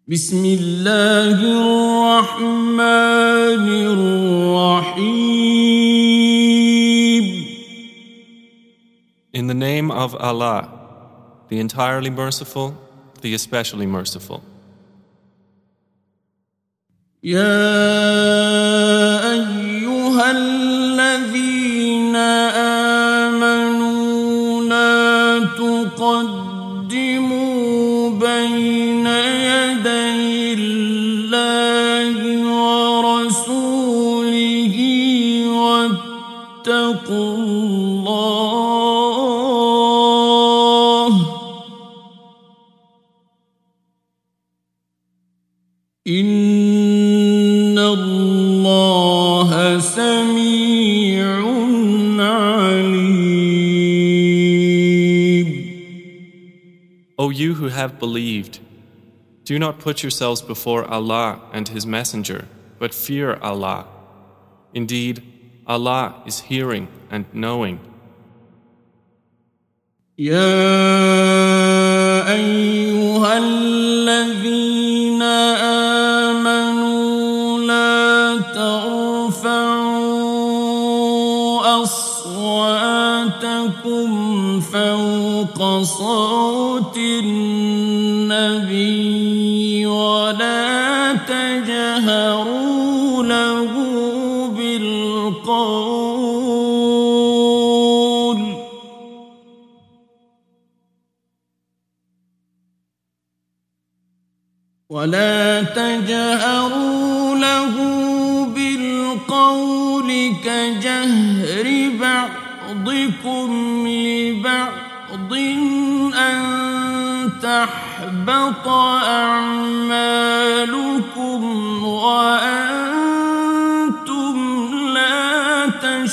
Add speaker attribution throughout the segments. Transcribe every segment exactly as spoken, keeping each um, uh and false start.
Speaker 1: بسم الله الرحمن الرحيم.
Speaker 2: In the name of Allah, the entirely merciful, the especially merciful.
Speaker 1: يا أيها الذين آمنوا لا تقدموا بين يدي الله ورسوله واتقوا الله إن الله سميع عليم.
Speaker 2: O you who have believed, do not put yourselves before Allah and His Messenger, but fear Allah. Indeed, Allah is hearing and knowing.
Speaker 1: يا أيها الذين آمنوا لا ترفعوا أصواتكم فوق صوت النبي ولا تجهروا له بالقول ولا تجهروا له بالقول كجهر بعضكم لبعض أن تحبط أعمالكم وأنتم لا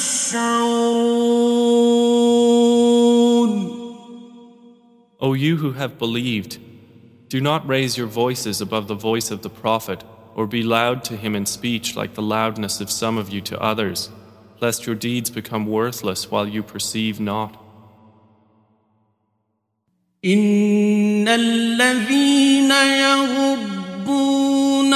Speaker 1: تشعرون.
Speaker 2: O you who have believed, do not raise your voices above the voice of the Prophet, or be loud to him in speech like the loudness of some of you to others, lest your deeds become worthless while you perceive not.
Speaker 1: إن الذين يغضون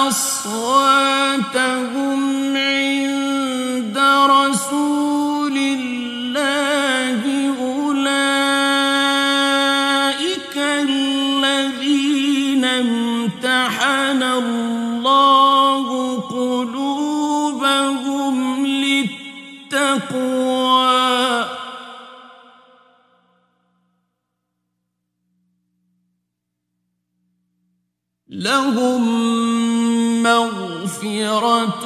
Speaker 1: أصواتهم عند رسول الله أولئك الذين امتحن الله قلوبهم للتقوى لهم مغفرة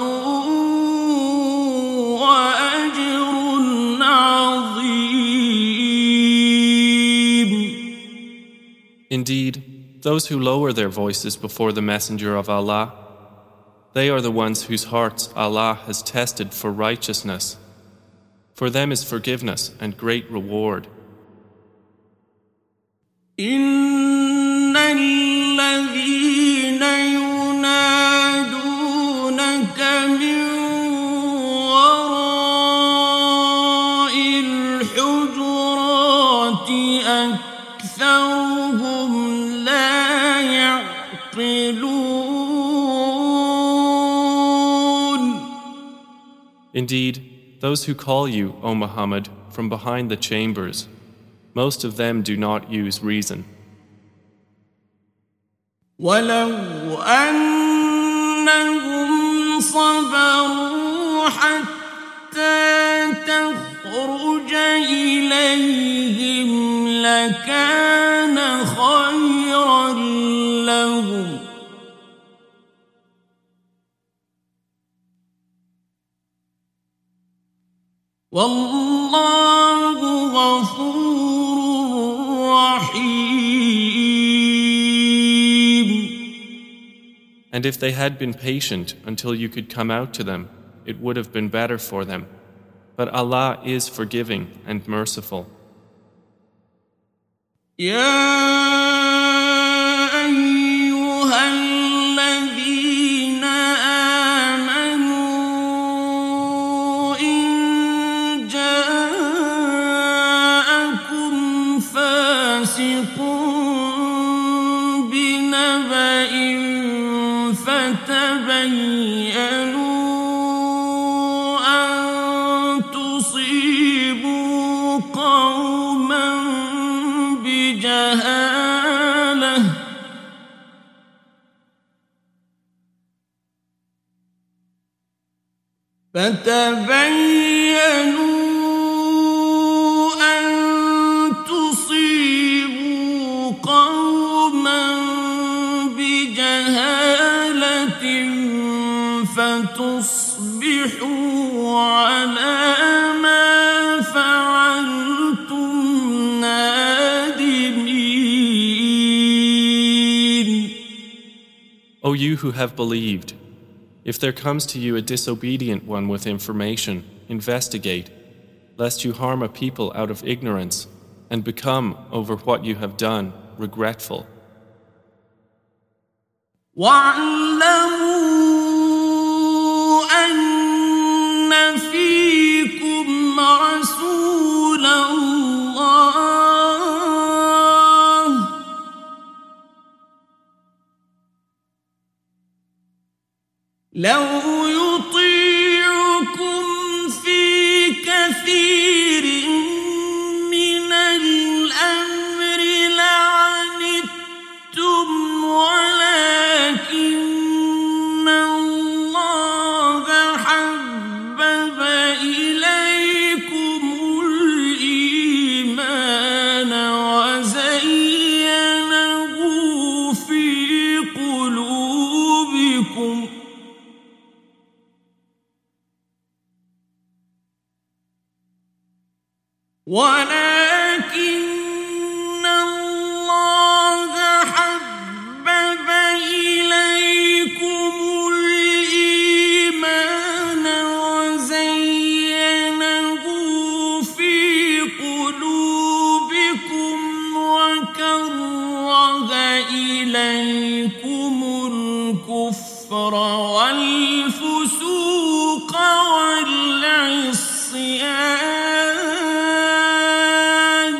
Speaker 1: وأجر عظيم.
Speaker 2: Indeed, those who lower their voices before the Messenger of Allah, they are the ones whose hearts Allah has tested for righteousness. For them is forgiveness and great reward.
Speaker 1: إن الذين ينادونك من وراء الحجرات أكثرهم لا يعقلون.
Speaker 2: Indeed, those who call you, O Muhammad, from behind the chambers, most of them do not use reason.
Speaker 1: ولو أنهم صبروا حتى تخرج إليهم لكان خيرا لهم والله غفور رحيم.
Speaker 2: And if they had been patient until you could come out to them, it would have been better for them. But Allah is forgiving and merciful.
Speaker 1: يا أيها الذين آمنوا إن جاءكم فاسق بنبأ فتبينوا أن تصيبوا قوما بجهالة فتبينوا أن تصيبوا قوما بجهالة فتصبحوا على ما فعلتم نادمين.
Speaker 2: O you who have believed, if there comes to you a disobedient one with information, investigate, lest you harm a people out of ignorance and become, over what you have done, regretful.
Speaker 1: وَاعْلَمُوا أَنَّ فِيكُمْ رَسُولَ اللَّهِ لَوْ يُطِيعُكُمْ فِي كَثِيرٍ مِّنَ الْأَمْرِ لَعَنِتُّمْ وَلَكِنَّ اللَّهَ حَبَّبَ إِلَيْكُمُ الْإِيمَانَ وَزَيَّنَهُ فِي قُلُوبِكُمْ ولكن الله حبب إليكم الإيمان وزينه في قلوبكم وكره إليكم الكفر والفسوق والعصيان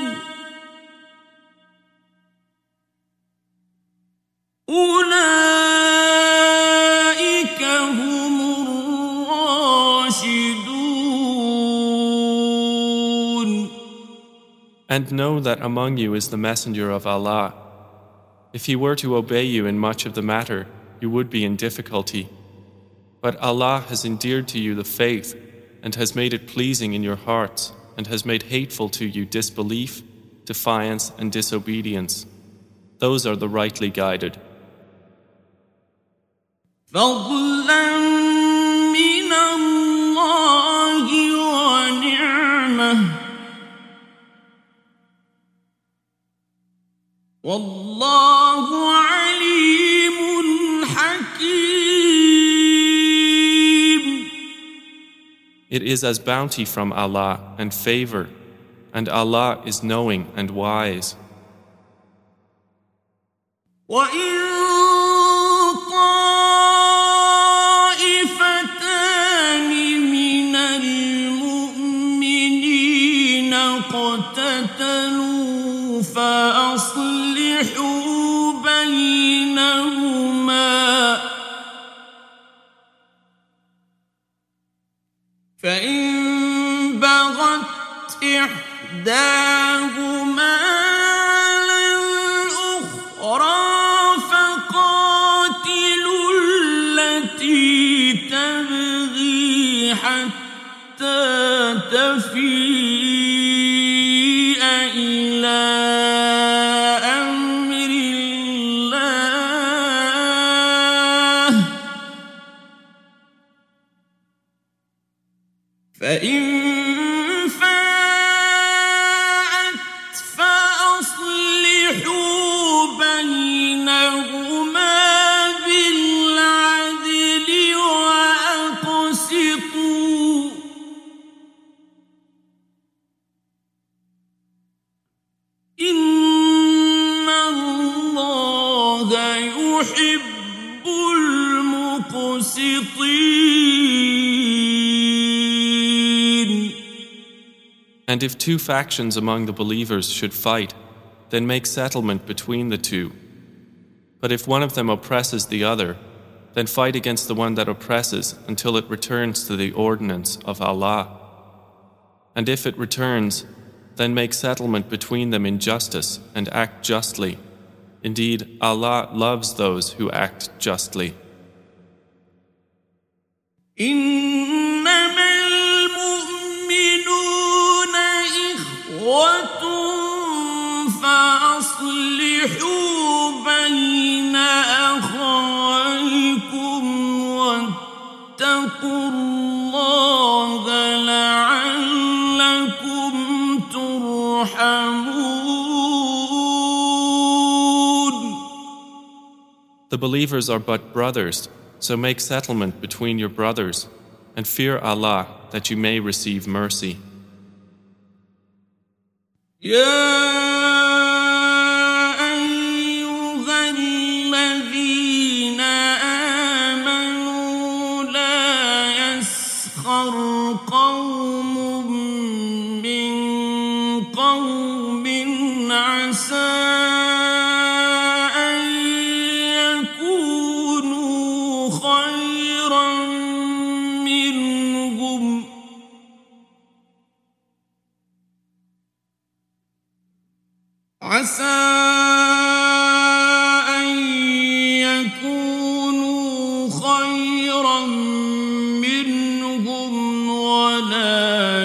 Speaker 1: أولئك هم الراشدون.
Speaker 2: And know that among you is the messenger of Allah. If he were to obey you in much of the matter, you would be in difficulty. But Allah has endeared to you the faith and has made it pleasing in your hearts and has made hateful to you disbelief, defiance and disobedience. Those are the rightly guided.
Speaker 1: فضلا من الله ونعمة والله عليم حكيم.
Speaker 2: It is as bounty from Allah and favor, and Allah is knowing and wise.
Speaker 1: وَإِن اقتتلوا فأصلحوا بينهما فإن بغت إحداهما على الأخرى فقاتلوا التي تبغي حتى تفيء إلى أمر الله فإن فاءت فأصلحوا بينهما بالعدل وأقسطوا إن الله يحب المقسطين.
Speaker 2: And if two factions among the believers should fight, then make settlement between the two. But if one of them oppresses the other, then fight against the one that oppresses until it returns to the ordinance of Allah. And if it returns, then make settlement between them in justice and act justly. Indeed, Allah loves those who act justly.
Speaker 1: إنما المؤمنون إخوة فأصلحوا بين أخويكم واتقوا الله لعلكم ترحمون.
Speaker 2: The believers are but brothers, so make settlement between your brothers, and fear Allah that you may receive mercy.
Speaker 1: يا أيها الذين آمنوا لا يسخر قوم من قوم عسى أن يكونوا خيرا منهم عسى أن يكونوا خيرا منهم ولا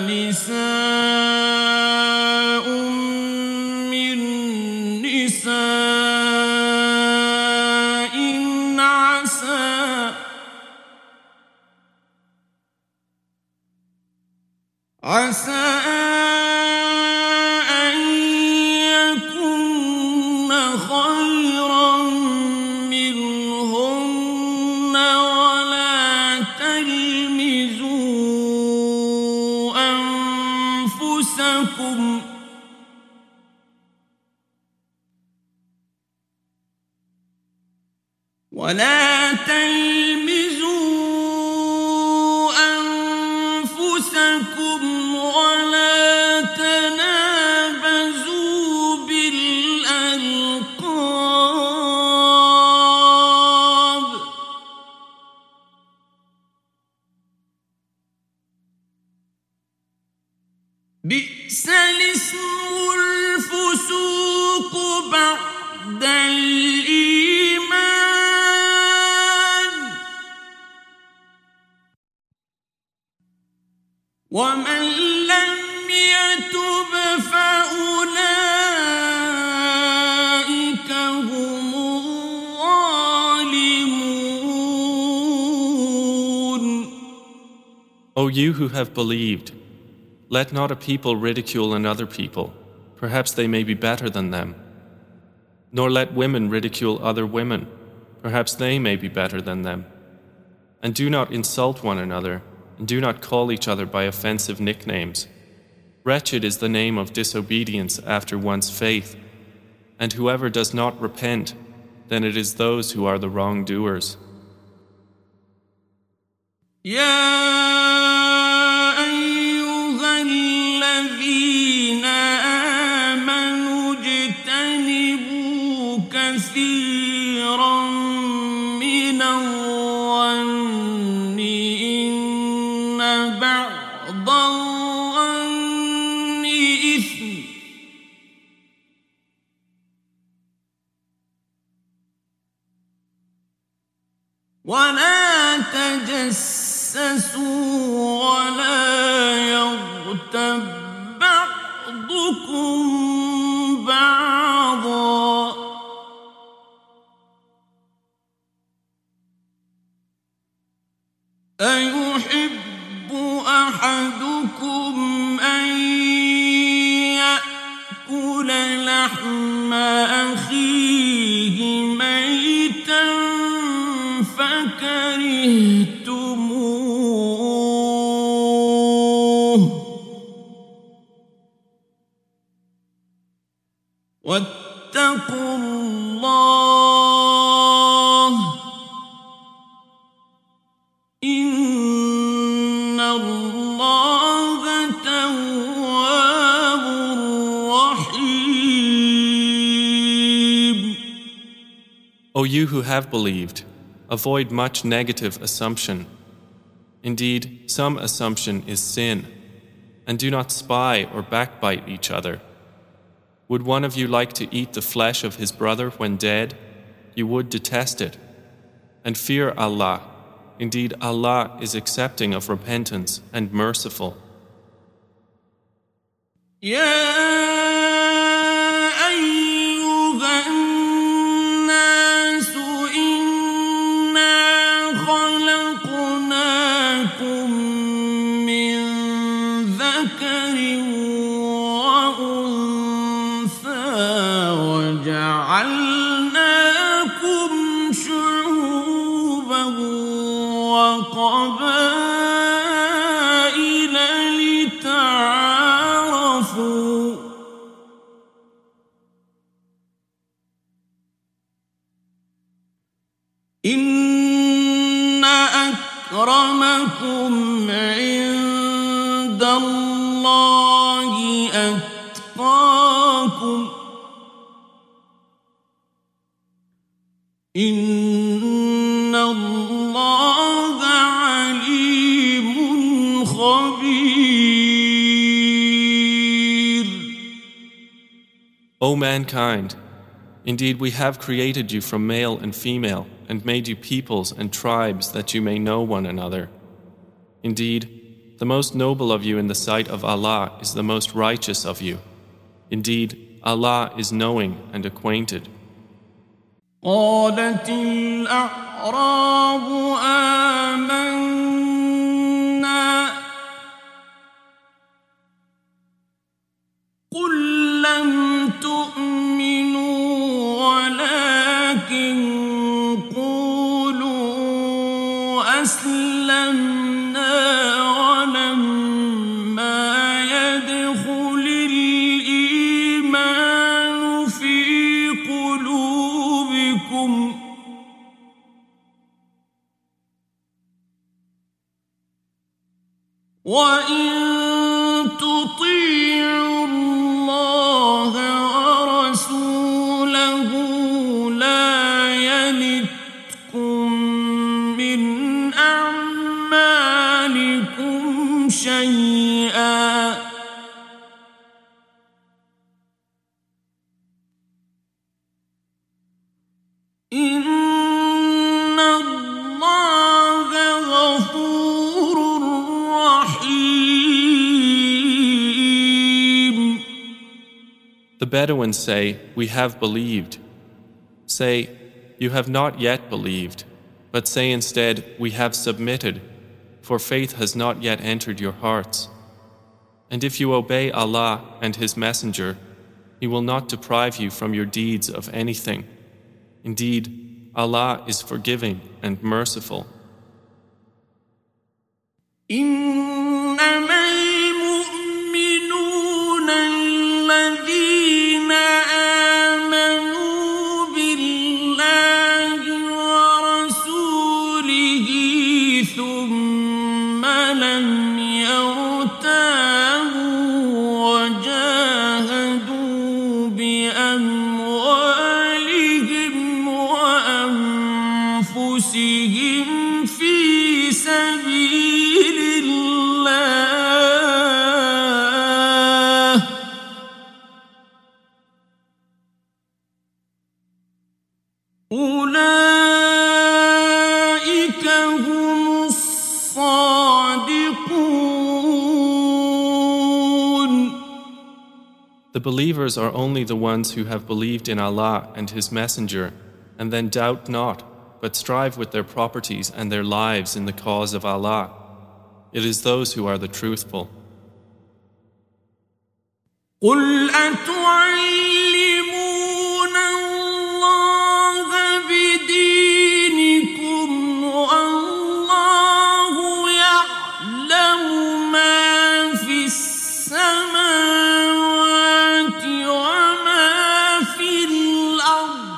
Speaker 1: نساء من نساء عسى عسى ولا تلمزوا أنفسكم ولا تنابزوا بالألقاب بئس الاسم الفسوق بعد الإيمان ومن لم يتب فأولئك هم الظالمون.
Speaker 2: O you who have believed, let not a people ridicule another people, perhaps they may be better than them. Nor let women ridicule other women, perhaps they may be better than them. And do not insult one another, and do not call each other by offensive nicknames. Wretched is the name of disobedience after one's faith, and whoever does not repent, then it is those who are the wrongdoers.
Speaker 1: يا أيها الذين آمنوا اجتنبوا كثيرا من الظن إن بعض الظن إثم ولا تجسسوا ولا يغتب بعضكم بعضا أيحب أحدكم أن يأكل لحم أخيه ميتا فكرهتموه واتقوا الله إن الله تواب رحيم.
Speaker 2: O you who have believed, avoid much negative assumption. Indeed, some assumption is sin. And do not spy or backbite each other. Would one of you like to eat the flesh of his brother when dead? You would detest it. And fear Allah. Indeed, Allah is accepting of repentance and merciful.
Speaker 1: يا أيها الناس إنا خلقناكم من ذكر وأنثى وجعلناكم شعوبا وقبائل لتعارفوا إن أكرمكم عند الله أتقاكم إن الله عليم خبير.
Speaker 2: O mankind, indeed we have created you from male and female and made you peoples and tribes that you may know one another. Indeed, the most noble of you in the sight of Allah is the most righteous of you. Indeed, Allah is knowing and acquainted.
Speaker 1: قالت الأعراب آمنا قل لم تؤمنوا ولكن قولوا أسلمنا ولما يدخل الإيمان في قلوبكم وإن تطيعوا الله ورسوله لا يلتكم من أعمالكم شيئا إن الله غفور رحيم.
Speaker 2: The Bedouins say, "We have believed." Say, "You have not yet believed," but say instead, "We have submitted," for faith has not yet entered your hearts. And if you obey Allah and His Messenger, He will not deprive you from your deeds of anything. Indeed, Allah is forgiving and merciful.
Speaker 1: إنما المؤمنون الذين آمنوا بالله ورسوله ثم لم يرتابوا وجاهدوا بأموالهم وأنفسهم في سبيل الله أولئك هم الصادقون.
Speaker 2: The believers are only the ones who have believed in Allah and His Messenger, and then doubt not, but strive with their properties and their lives in the cause of Allah. It is those who are the truthful.
Speaker 1: قل أتعلمون الله بدينكم والله يعلم ما في السماوات وما في الأرض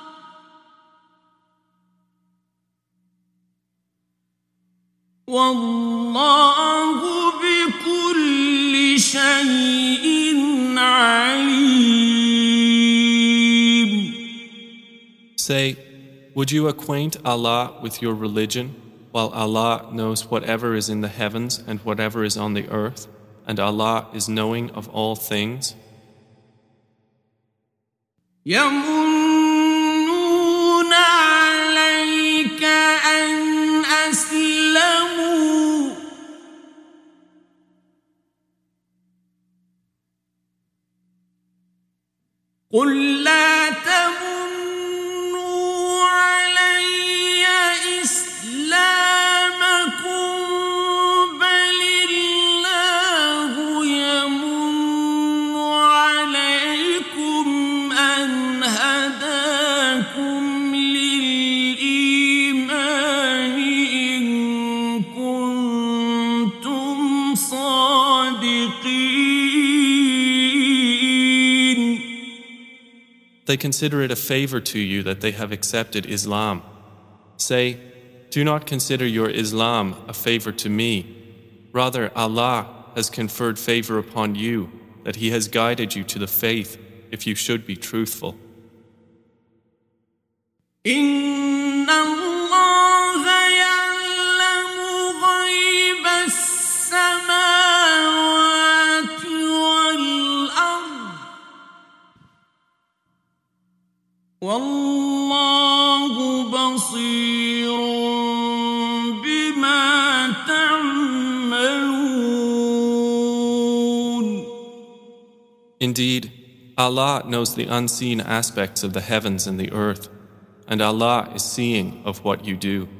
Speaker 1: والله بكل شيء عليم.
Speaker 2: Say, Would you acquaint Allah with your religion, while Allah knows whatever is in the heavens and whatever is on the earth, and Allah is knowing of all things?
Speaker 1: يمنون عليك أن أسلموا قل لا تمنوا علي إسلامكم بل الله يمن عليكم أن هداكم للإيمان إن كنتم صادقين.
Speaker 2: They consider it a favor to you that they have accepted Islam. Say, do not consider your Islam a favor to me. Rather, Allah has conferred favor upon you, that He has guided you to the faith, if you should be truthful.
Speaker 1: إن الله يعلم غيب السماوات والأرض والله بصير بما تعملون.
Speaker 2: Indeed, Allah knows the unseen aspects of the heavens and the earth, and Allah is seeing of what you do.